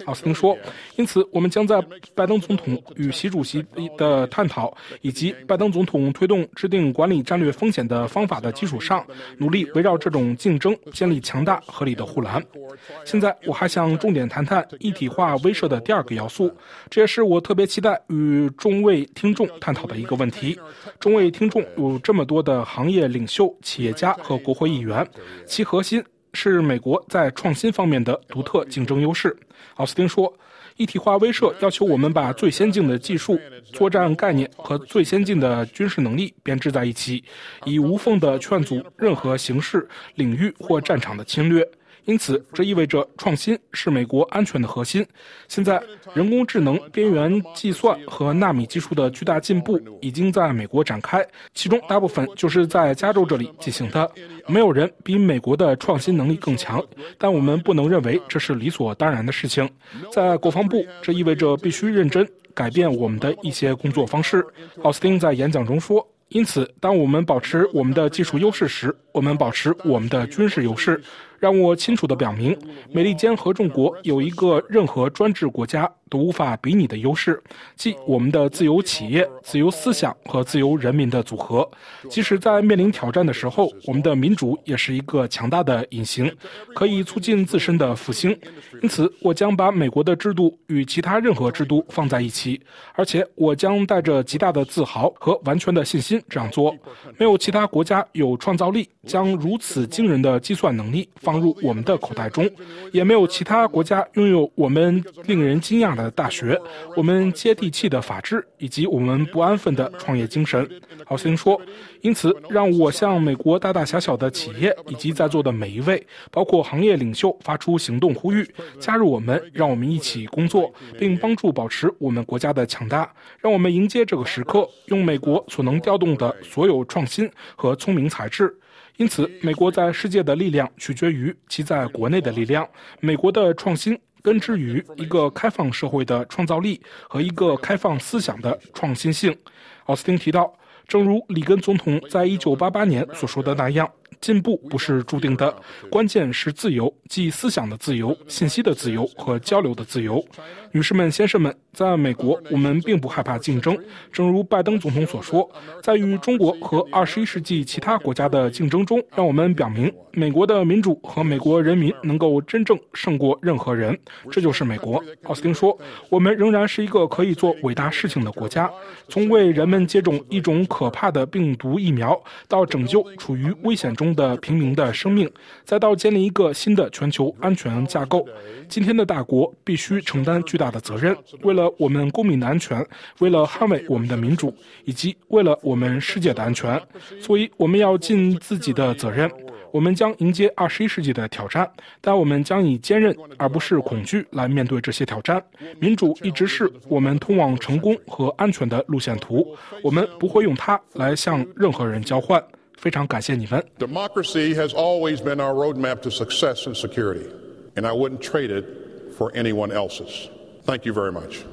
奥斯汀说，因此我们将在拜登总统与习主席的探讨，以及拜登总统推动制定管理战略风险的方法的基础上，努力围绕这种竞争建立强大合理的护栏。现在我还想重点谈谈一体化威慑的第二个要素，这也是我特别期待与众位听众探讨的一个问题。众位听众有这么多的行业领袖、企业家和国会议员，其核心是美国在创新方面的独特竞争优势。奥斯汀说，一体化威慑要求我们把最先进的技术、作战概念和最先进的军事能力编织在一起，以无缝地劝阻任何形式、领域或战场的侵略。因此，这意味着创新是美国安全的核心。现在，人工智能、边缘计算和纳米技术的巨大进步已经在美国展开，其中大部分就是在加州这里进行的。没有人比美国的创新能力更强，但我们不能认为这是理所当然的事情。在国防部，这意味着必须认真改变我们的一些工作方式。奥斯汀在演讲中说，因此，当我们保持我们的技术优势时，我们保持我们的军事优势。让我清楚地表明，美利坚合众国有一个任何专制国家都无法比拟的优势，即我们的自由企业、自由思想和自由人民的组合。即使在面临挑战的时候，我们的民主也是一个强大的隐形，可以促进自身的复兴。因此，我将把美国的制度与其他任何制度放在一起，而且我将带着极大的自豪和完全的信心这样做。没有其他国家有创造力将如此惊人的计算能力放入我们的口袋中，也没有其他国家拥有我们令人惊讶的大学、我们接地气的法治以及我们不安分的创业精神。奥斯汀说，因此让我向美国大大小小的企业以及在座的每一位，包括行业领袖发出行动呼吁，加入我们，让我们一起工作，并帮助保持我们国家的强大。让我们迎接这个时刻，用美国所能调动的所有创新和聪明才智。因此，美国在世界的力量取决于其在国内的力量。美国的创新根植于一个开放社会的创造力和一个开放思想的创新性。奥斯汀提到，正如里根总统在一九八八年所说的那样，进步不是注定的，关键是自由，即思想的自由、信息的自由和交流的自由。女士们、先生们，在美国，我们并不害怕竞争。正如拜登总统所说，在与中国和二十一世纪其他国家的竞争中，让我们表明美国的民主和美国人民能够真正胜过任何人。这就是美国。奥斯汀说，我们仍然是一个可以做伟大事情的国家，从为人们接种一种可怕的病毒疫苗，到拯救处于危险中的平民的生命，再到建立一个新的全球安全架构。今天的大国必须承担巨大的责任，为了我们公民的安全，为了捍卫我们的民主，以及为了我们世界的安全。所以我们要尽自己的责任。我们将迎接二十一世纪的挑战，但我们将以坚韧而不是恐惧来面对这些挑战。民主一直是我们通往成功和安全的路线图，我们不会用它来向任何人交换。非常感谢你们。 Democracy has always been our roadmap to success and security, and I wouldn't trade it for anyone else's. Thank you very much.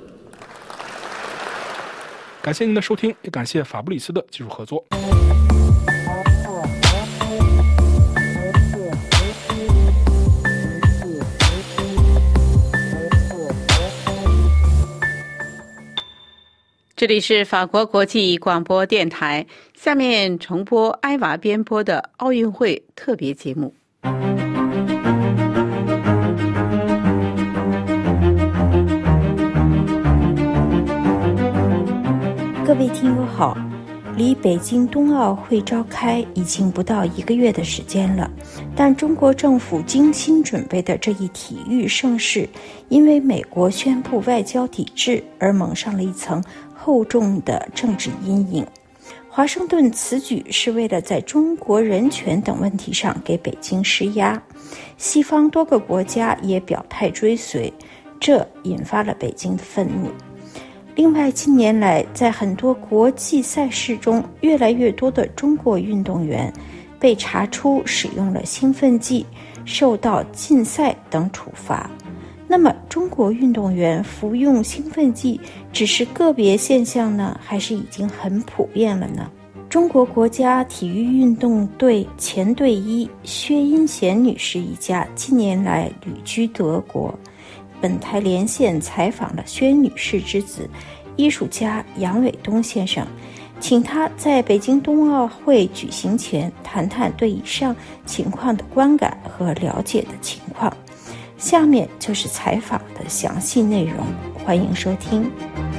感谢您的收听，也感谢法布里斯的技术合作。 这里是法国国际广播电台，下面重播埃娃编播的奥运会特别节目。 各位听友好，离北京冬奥会召开已经不到一个月的时间了，但中国政府精心准备的这一体育盛事，因为美国宣布外交抵制而蒙上了一层厚重的政治阴影。华盛顿此举是为了在中国人权等问题上给北京施压，西方多个国家也表态追随，这引发了北京的愤怒。另外，近年来在很多国际赛事中，越来越多的中国运动员被查出使用了兴奋剂，受到禁赛等处罚。那么，中国运动员服用兴奋剂只是个别现象呢，还是已经很普遍了呢？中国国家体育运动队前队医薛英贤女士一家近年来旅居德国， 本台连线采访了宣女士之子、艺术家杨伟东先生，请他在北京冬奥会举行前谈谈对以上情况的观感和了解的情况。下面就是采访的详细内容，欢迎收听。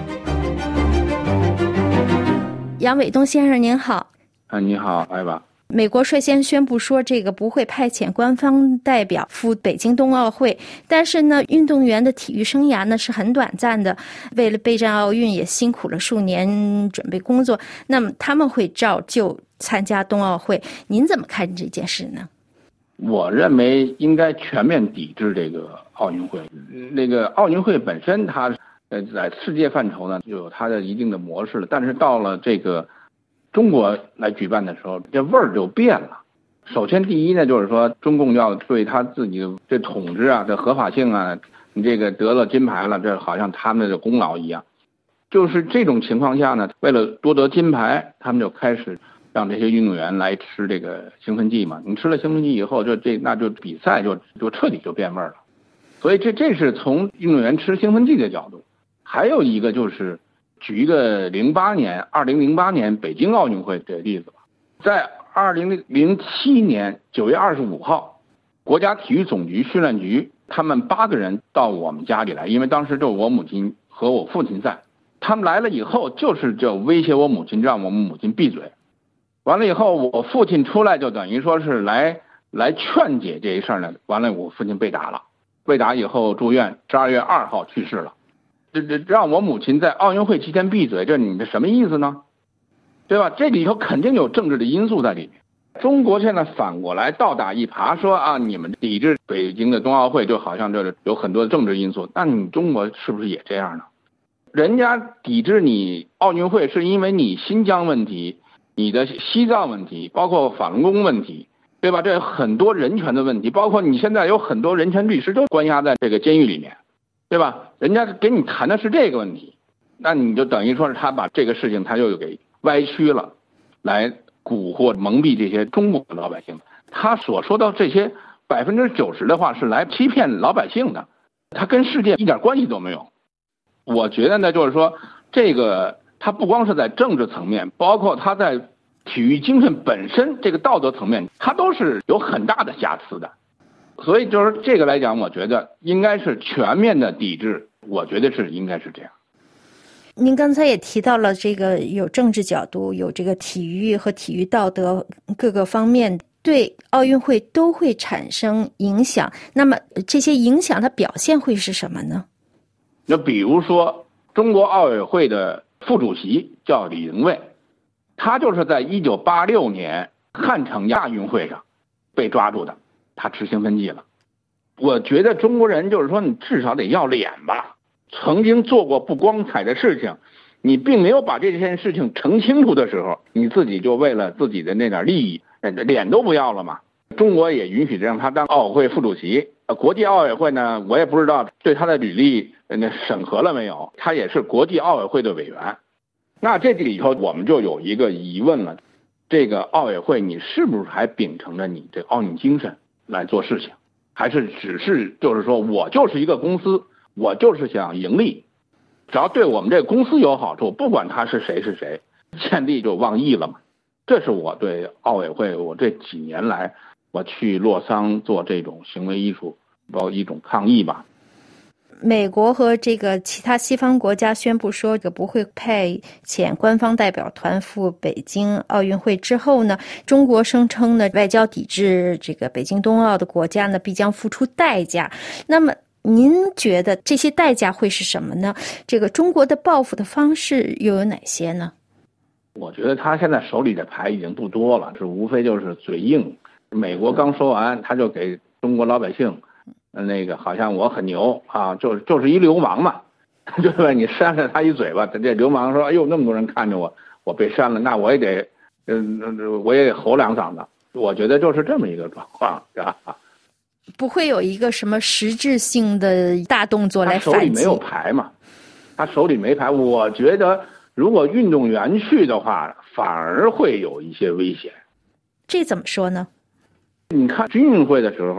杨伟东先生您好。 啊，你好，艾娃。 美国率先宣布说这个不会派遣官方代表赴北京冬奥会，但是呢，运动员的体育生涯呢是很短暂的，为了备战奥运也辛苦了数年准备工作，那么他们会照旧参加冬奥会，您怎么看这件事呢？ 我认为应该全面抵制这个奥运会。那个奥运会本身它呃在世界范畴呢就有它的一定的模式了，但是到了这个中国来举办的时候，这味儿就变了。首先第一呢，就是说中共要对他自己的这统治啊、这合法性啊，你这个得了金牌了，这好像他们的功劳一样。就是这种情况下呢，为了多得金牌，他们就开始让这些运动员来吃这个兴奋剂嘛。你吃了兴奋剂以后，就这那就比赛就就彻底就变味儿了。所以这这是从运动员吃兴奋剂的角度。还有一个就是举一个零八年二零零八年北京奥运会这个例子吧。在二零零七年九月二十五号，国家体育总局训练局他们八个人到我们家里来，因为当时就我母亲和我父亲在。他们来了以后就是就威胁我母亲，让我们母亲闭嘴。完了以后我父亲出来就等于说是来来劝解这一事呢。完了我父亲被打了，被打以后住院，十二月二号去世了。这这让我母亲在奥运会期间闭嘴，这你这什么意思呢？对吧？这里头肯定有政治的因素在里面。中国现在反过来倒打一耙，说啊，你们抵制北京的冬奥会就好像这有很多的政治因素，那你中国是不是也这样呢？人家抵制你奥运会是因为你新疆问题、你的西藏问题，包括法轮功问题，对吧？这有很多人权的问题，包括你现在有很多人权律师都关押在这个监狱里面，对吧？人家给你谈的是这个问题，那你就等于说是他把这个事情他就给歪曲了，来蛊惑蒙蔽这些中国的老百姓。他所说到这些百分之九十的话是来欺骗老百姓的，他跟世界一点关系都没有。我觉得呢，就是说这个他不光是在政治层面，包括他在体育精神本身这个道德层面，他都是有很大的瑕疵的。所以就是这个来讲，我觉得应该是全面的抵制，我觉得是应该是这样。 您刚才也提到了这个有政治角度，有这个体育和体育道德各个方面对奥运会都会产生影响。那么这些影响的表现会是什么呢？ 那比如说中国奥委会的副主席叫李玲蔚，他就是在一九八六年汉城亚运会上被抓住的，他吃兴奋剂了。我觉得中国人就是说你至少得要脸吧，曾经做过不光彩的事情，你并没有把这件事情澄清楚的时候，你自己就为了自己的那点利益脸都不要了嘛。中国也允许让他当奥委会副主席，国际奥委会呢，我也不知道对他的履历那审核了没有，他也是国际奥委会的委员。那这里头我们就有一个疑问了，这个奥委会你是不是还秉承着你这奥运精神来做事情，还是只是就是说我就是一个公司，我就是想盈利，只要对我们这个公司有好处，不管他是谁是谁，见利就忘义了嘛。这是我对奥委会我这几年来我去洛桑做这种行为艺术包括一种抗议吧。 美国和这个其他西方国家宣布说这个不会派遣官方代表团赴北京奥运会之后呢，中国声称呢外交抵制这个北京冬奥的国家呢必将付出代价。那么您觉得这些代价会是什么呢？这个中国的报复的方式又有哪些呢？ 我觉得他现在手里的牌已经不多了，是无非就是嘴硬。美国刚说完，他就给中国老百姓那个好像我很牛啊，就是就是一流氓嘛，对吧？你扇了他一嘴巴，这流氓说：“哎呦，那么多人看着我，我被扇了，那我也得，嗯、呃，我也得吼两嗓子。”我觉得就是这么一个状况，是吧？ 不会有一个什么实质性的大动作来反击。他手里没有牌嘛，他手里没牌。我觉得如果运动员去的话，反而会有一些危险。 这怎么说呢？ 你看军运会的时候，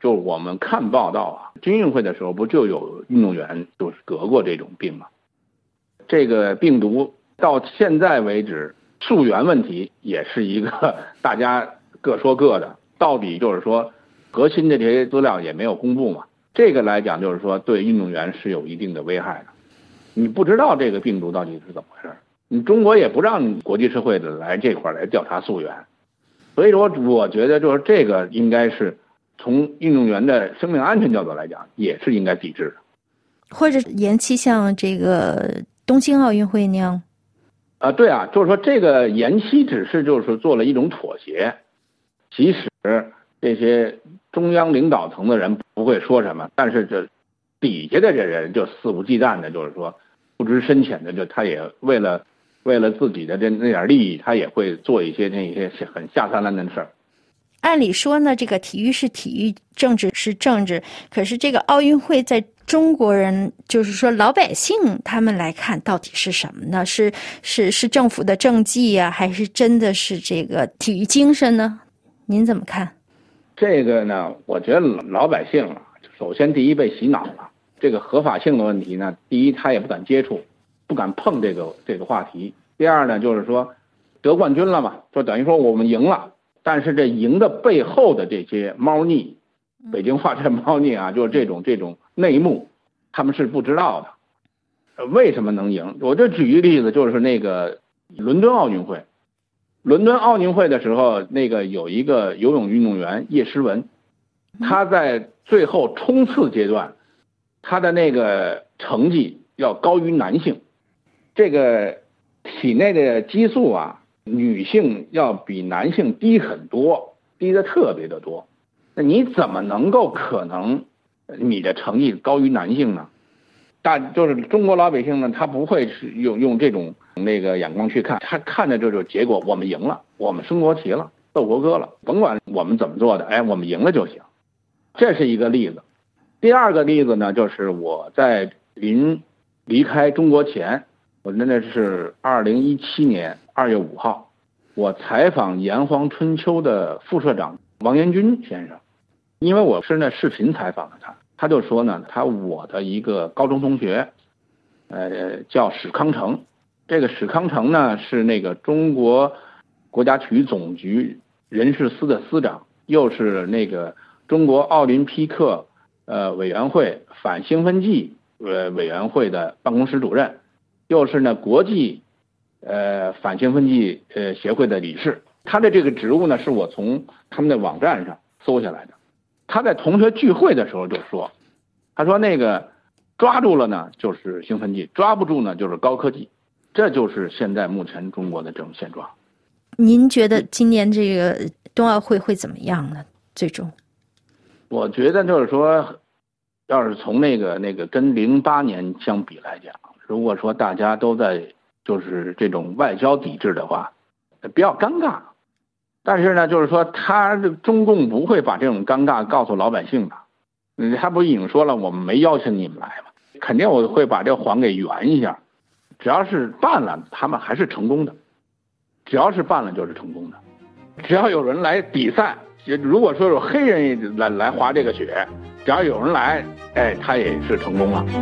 就我们看报道啊，军运会的时候不就有运动员就是得过这种病吗？这个病毒到现在为止，溯源问题也是一个大家各说各的，到底就是说核心的这些资料也没有公布嘛。这个来讲就是说对运动员是有一定的危害的。你不知道这个病毒到底是怎么回事，你中国也不让国际社会的来这块来调查溯源，所以说我觉得就是这个应该是从运动员的生命安全角度来讲，也是应该抵制的， 或者延期像这个东京奥运会那样。 啊，对啊，就是说这个延期只是就是做了一种妥协，即使这些中央领导层的人不会说什么，但是这底下的这人就肆无忌惮的，就是说不知深浅的，就他也为了为了自己的这那点利益，他也会做一些那些很下三滥的事儿。 按理说呢，这个体育是体育，政治是政治，可是这个奥运会在中国人，就是说老百姓他们来看到底是什么呢？是是是政府的政绩啊，还是真的是这个体育精神呢？您怎么看？ 这个呢，我觉得老百姓啊，首先第一被洗脑了，这个合法性的问题呢，第一他也不敢接触，不敢碰这个这个话题。第二呢，就是说得冠军了嘛，就等于说我们赢了。但是这赢的背后的这些猫腻，北京话这猫腻啊，就是这种这种内幕，他们是不知道的。为什么能赢？我就举一个例子，就是那个伦敦奥运会。伦敦奥运会的时候，那个有一个游泳运动员叶诗文，他在最后冲刺阶段，他的那个成绩要高于男性，这个体内的激素啊，女性要比男性低很多，低的特别的多。那你怎么能够可能你的成绩高于男性呢？大就是中国老百姓呢，他不会是用用这种那个眼光去看，他看的这种结果，我们赢了，我们升国旗了，奏国歌了，甭管我们怎么做的，哎，我们赢了就行。这是一个例子。第二个例子呢，就是我在临离开中国前，我真的是二零一七年二月五号，我采访炎黄春秋的副社长王延军先生，因为我是那视频采访的他，他就说呢，他我的一个高中同学，呃，叫史康成，这个史康成呢是那个中国国家体育总局人事司的司长，又是那个中国奥林匹克呃委员会反兴奋剂呃委员会的办公室主任，又是呢国际呃反兴奋剂呃协会的理事。他的这个职务呢是我从他们的网站上搜下来的。他在同学聚会的时候就说，他说那个抓住了呢就是兴奋剂，抓不住呢就是高科技，这就是现在目前中国的这种现状。 您觉得今年这个冬奥会会怎么样呢？最终我觉得就是说，要是从那个那个跟零八年相比来讲，如果说大家都在就是这种外交抵制的话，比较尴尬。但是呢，就是说他中共不会把这种尴尬告诉老百姓的。嗯，他不已经说了，我们没邀请你们来嘛，肯定我会把这个谎给圆一下。只要是办了，他们还是成功的。只要是办了就是成功的。只要有人来比赛，如果说有黑人来来滑这个雪，只要有人来，哎，他也是成功了。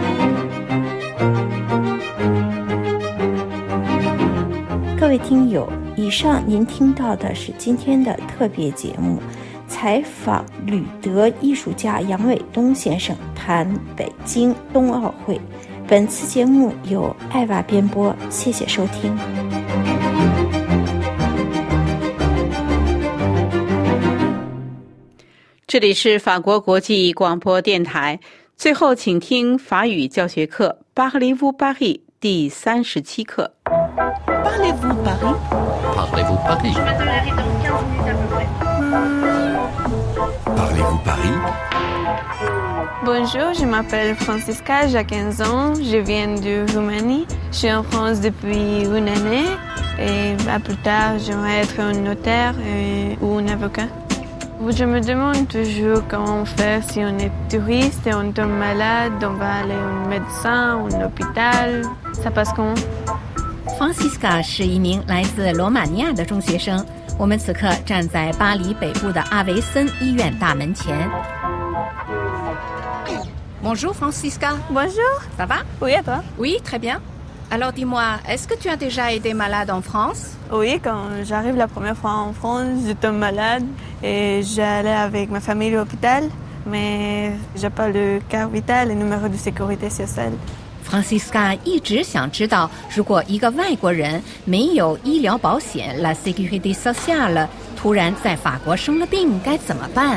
各位听友，以上您听到的是今天的特别节目，采访旅德艺术家杨伟东先生谈北京冬奥会。本次节目由艾娃编播，谢谢收听。 这里是法国国际广播电台。最后，请听法语教学课《Parlez-vous Paris》第三十七课。 Parlez-vous Paris? Parlez-vous Paris? Parlez-vous Paris? Bonjour, je m'appelle Francisca, j'ai quinze ans, je viens de Roumanie. Je suis en France depuis une année et bah, plus tard, j'aimerais être un notaire et, ou un avocat. Je me demande toujours comment faire si on est touriste et on tombe malade, on va aller au médecin ou un hôpital. Ça passe comment? Francisca 是一名来自罗马尼亚的中学生，我们此刻站在巴黎北部的阿维森医院大门前。 Bonjour Francisca. Bonjour. Ça va? Oui, et toi? Oui, très bien. Alors dis-moi, est-ce que tu as déjà été malade en France? Oui, quand j'arrive la première fois en France, j'étais malade et j'allais avec ma famille à l'hôpital, mais j'ai pas le carte vitale et numéro de sécurité sociale. Francisca 一直想知道，如果一个外国人没有医疗保险 La Sécurité Sociale， 突然在法国生了病该怎么办？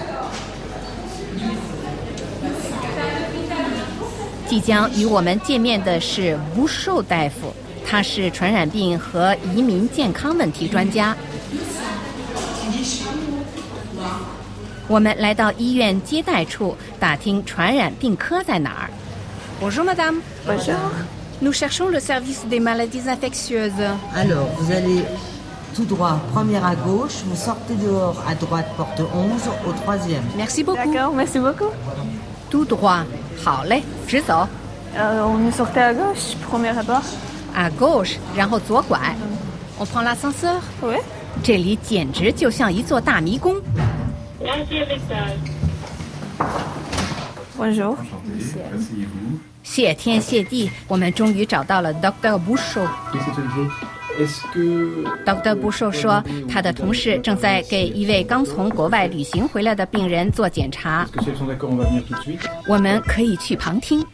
即将与我们见面的是吴寿大夫，他是传染病和移民健康问题专家。我们来到医院接待处，打听传染病科在哪儿。Bonjour madame. Bonjour. Nous cherchons le service des maladies infectieuses. Alors, vous allez tout droit, première à gauche, vous sortez dehors à droite, porte onze, au troisième. Merci beaucoup. D'accord, merci beaucoup. Tout droit. 好嘞，直走。 Euh, on est sorti à gauche, premier abord. À gauche, 然后左拐。On prend l'ascenseur. Oui. 这里简直就像一座大迷宫。 Bonjour. 谢天谢地，我们终于找到了 Doctor Bouchot。Doctor Bouchot 说，他的同事正在给一位刚从国外旅行回来的病人做检查。我们可以去旁听。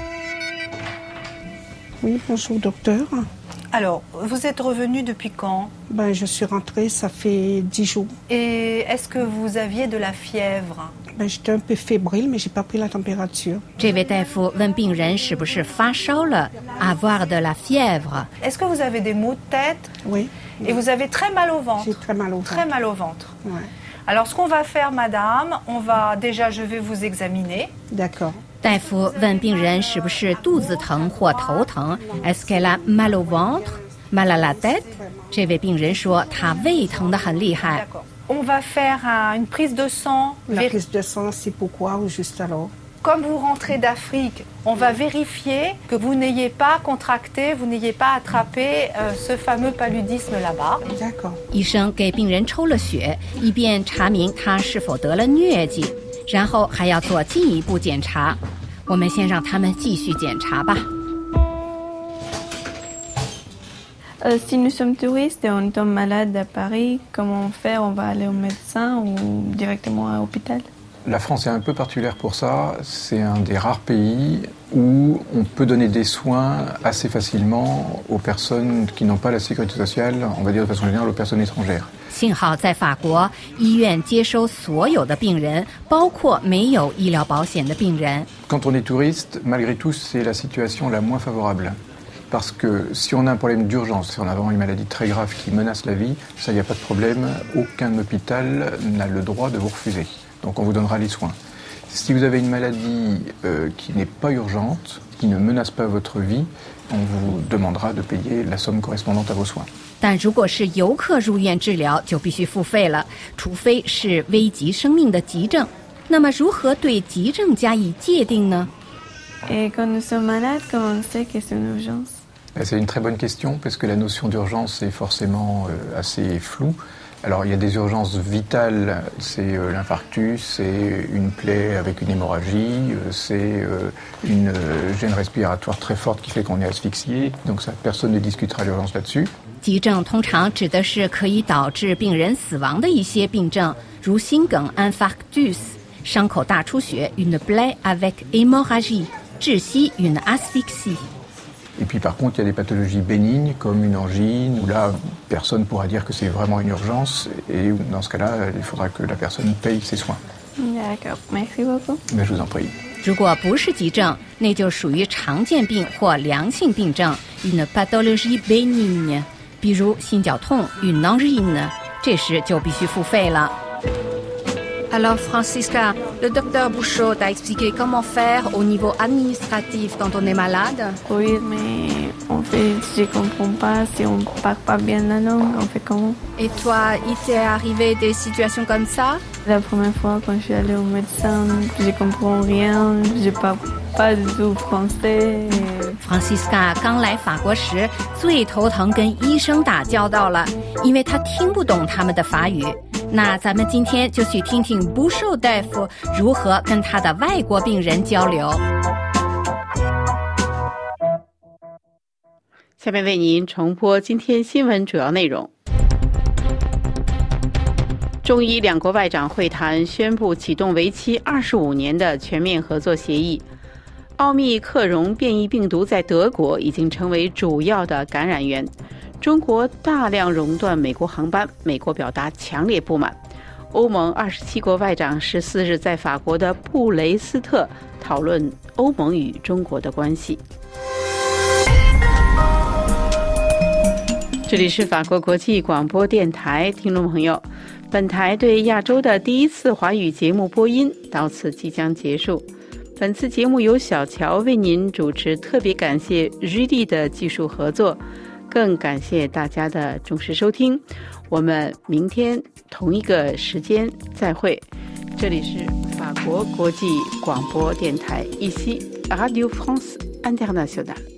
Oui, bonjour docteur. Alors, vous êtes revenu depuis quand? Ben, je suis rentrée, ça fait dix jours. Et est-ce que vous aviez de la fièvre? Ben, j'étais un peu fébrile, mais j'ai pas pris la température. 这位大夫问病人是不是发烧了 avoir de la fièvre. Est-ce que vous avez des maux de tête? Oui. Et vous avez très mal au ventre? J'ai très mal au ventre. Très mal au ventre. Ouais. Alors, ce qu'on va faire, madame, on va déjà, je vais vous examiner. D'accord. 大夫问病人是不是肚子疼或头疼 Est-ce qu'elle a mal au ventre, mal à la tête? 这位病人说他胃疼得很厉害。 On va faire un, une prise de sang. La prise de sang, c'est pourquoi ou juste alors? Comme vous rentrez d'Afrique, on va vérifier que vous n'ayez pas contracté, vous n'ayez pas attrapé euh, ce fameux paludisme là-bas. D'accord. 医生给病人抽了血，以便查明他是否得了疟疾，然后还要做进一步检查。我们先让他们继续检查吧。 Euh, si nous sommes touristes et on tombe malade à Paris, comment on fait? On va aller au médecin ou directement à l'hôpital? La France est un peu particulière pour ça. C'est un des rares pays où on peut donner des soins assez facilement aux personnes qui n'ont pas la sécurité sociale, on va dire de façon générale aux personnes étrangères. 幸好在法国，医院接收所有的病人，包括没有医疗保险的病人。 Quand on est touriste, malgré tout, c'est la situation la moins favorable. Parce que si on a un problème d'urgence, si on a vraiment une maladie très grave qui menace la vie, ça, il n'y a pas de problème. Aucun hôpital n'a le droit de vous refuser. Donc on vous donnera les soins. Si vous avez une maladie euh, qui n'est pas urgente, qui ne menace pas votre vie, on vous demandera de payer la somme correspondante à vos soins. 但如果是游客入院治疗，就必须付费了，除非是危及生命的急症。那么如何对急症加以界定呢？ Et quand nous sommes malades, comment on sait que c'est une urgence? C'est une très bonne question, parce que la notion d'urgence est forcément euh, assez floue. Alors, il y a des urgences vitales, c'est euh, l'infarctus, c'est une plaie avec une hémorragie, euh, c'est euh, une euh, gêne respiratoire très forte qui fait qu'on est asphyxié. Donc ça, personne ne discutera l'urgence là-dessus. 急症通常指的是可以导致病人死亡的一些病症，如心梗 infarctus、伤口大出血 une plaie avec hémorragie、窒息 une asphyxie。 Et puis par contre, il y a des pathologies bénignes comme une angine, où là, personne ne pourra dire que c'est vraiment une urgence, et dans ce cas-là, il faudra que la personne paye ses soins. D'accord, merci beaucoup. Mais je vous en prie. 如果不是急症，那就属于常见病或良性病症 une pathologie bénigne， 比如心绞痛 une angine， 这时就必须付费了。Alors Francisca, le docteur Bouchot t'a expliqué comment faire au niveau administratif quand on est malade? Oui, mais en fait, je comprends pas si on parle pas bien la langue, on fait comment? Et toi, il t'est arrivé des situations comme ça? La première fois quand je suis allée au médecin, je comprends rien, je parle pas du tout français. Francisca 刚来法国时，最头疼跟医生打交道了，因为她听不懂他们的法语。 那咱们今天就去听听不寿大夫如何跟他的外国病人交流。 下面为您重播今天新闻主要内容。中伊两国外长会谈宣布启动为期二十五年的全面合作协议。奥密克戎变异病毒在德国已经成为主要的感染源。中国大量熔断美国航班，美国表达强烈不满。欧盟二十七国外长十四日在法国的布雷斯特讨论欧盟与中国的关系。这里是法国国际广播电台，听众朋友，本台对亚洲的第一次华语节目播音到此即将结束。本次节目由小乔为您主持，特别感谢 G D 的技术合作，更感谢大家的忠实收听。我们明天同一个时间再会。这里是法国国际广播电台，ici Radio France Internationale。